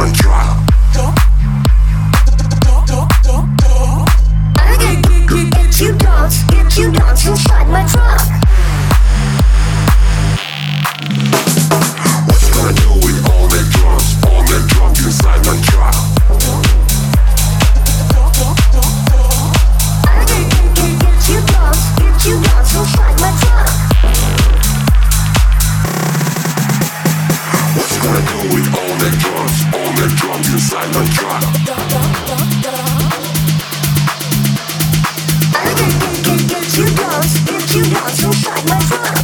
my truck. I get you dance inside my truck. What you gonna do with all that drums inside my truck? I get you dance inside my truck. What you gonna do with all that drums inside my truck? I get you dance inside my truck.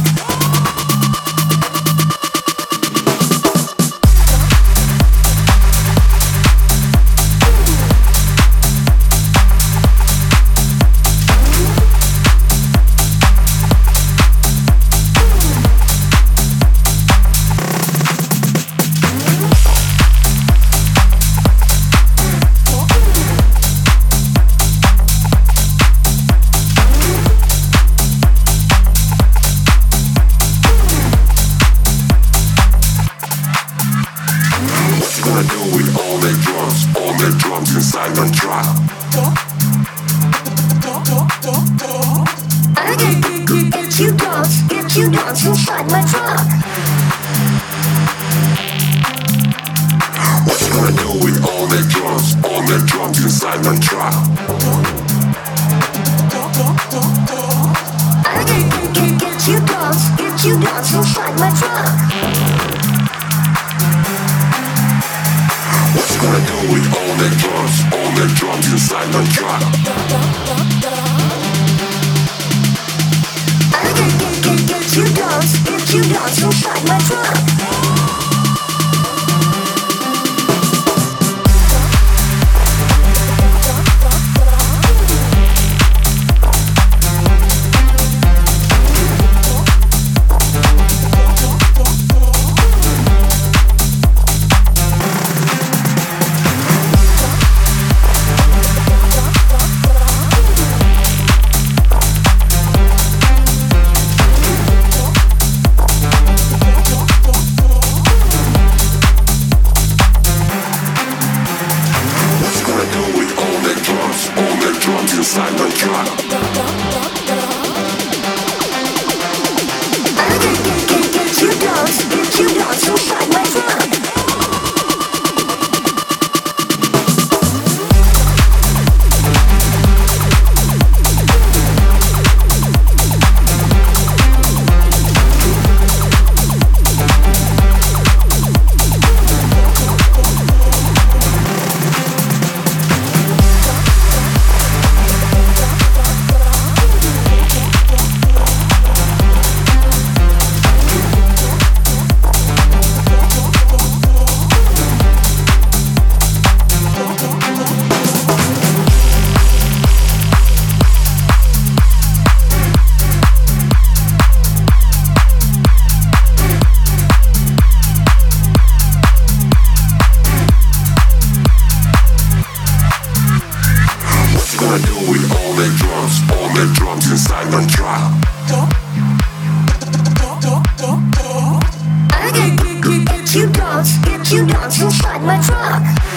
Gonna do with all that drums inside my truck. I get you dance inside my truck. What you gonna do with all that drums inside my truck? I get you dance inside my truck. What you gonna do with all that drums inside my truck? I get you dance inside my truck. Inside my truck. I get you dance inside my truck. Gonna do with all that drums inside my truck. I get you dance inside my truck.